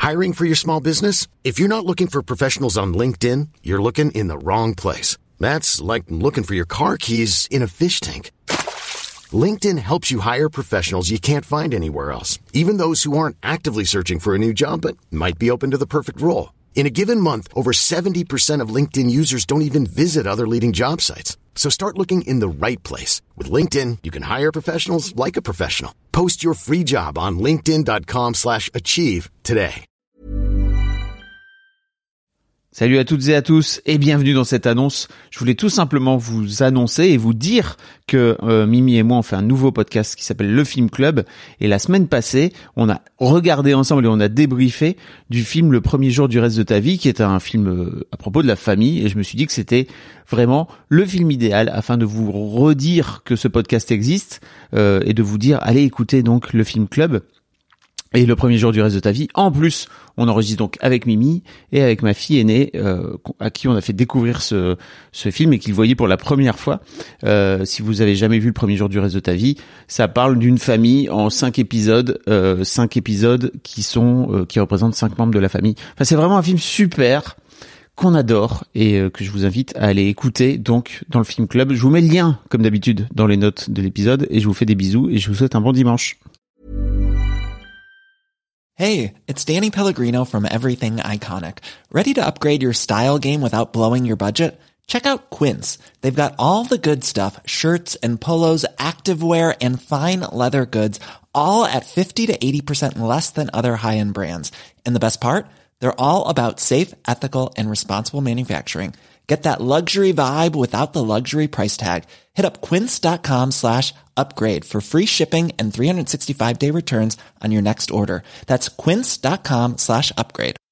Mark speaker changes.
Speaker 1: Hiring for your small business? If you're not looking for professionals on LinkedIn, you're looking in the wrong place. That's like looking for your car keys in a fish tank. LinkedIn helps you hire professionals you can't find anywhere else, even those who aren't actively searching for a new job but might be open to the perfect role. In a given month, over 70% of LinkedIn users don't even visit other leading job sites. So start looking in the right place. With LinkedIn, you can hire professionals like a professional. Post your free job on linkedin.com/achieve today.
Speaker 2: Salut à toutes et à tous et bienvenue dans cette annonce. Je voulais tout simplement vous annoncer et vous dire que Mimi et moi on fait un nouveau podcast qui s'appelle Le Film Club et la semaine passée on a regardé ensemble et on a débriefé du film Le Premier Jour du Reste de ta Vie qui est un film à propos de la famille et je me suis dit que c'était vraiment le film idéal afin de vous redire que ce podcast existe et de vous dire allez écouter donc Le Film Club. Et Le Premier Jour du Reste de ta Vie. En plus, on enregistre donc avec Mimi et avec ma fille aînée, à qui on a fait découvrir ce film et qu'il voyait pour la première fois. Si vous avez jamais vu Le Premier Jour du Reste de ta Vie, ça parle d'une famille en 5 épisodes, 5 épisodes qui représentent 5 membres de la famille. Enfin, c'est vraiment un film super qu'on adore et que je vous invite à aller écouter donc dans le Film Club. Je vous mets le lien, comme d'habitude, dans les notes de l'épisode et je vous fais des bisous et je vous souhaite un bon dimanche.
Speaker 3: Hey, it's Danny Pellegrino from Everything Iconic. Ready to upgrade your style game without blowing your budget? Check out Quince. They've got all the good stuff, shirts and polos, activewear, and fine leather goods, all at 50 to 80% less than other high-end brands. And the best part? They're all about safe, ethical, and responsible manufacturing. Get that luxury vibe without the luxury price tag. Hit up quince.com/upgrade for free shipping and 365-day returns on your next order. That's quince.com/upgrade.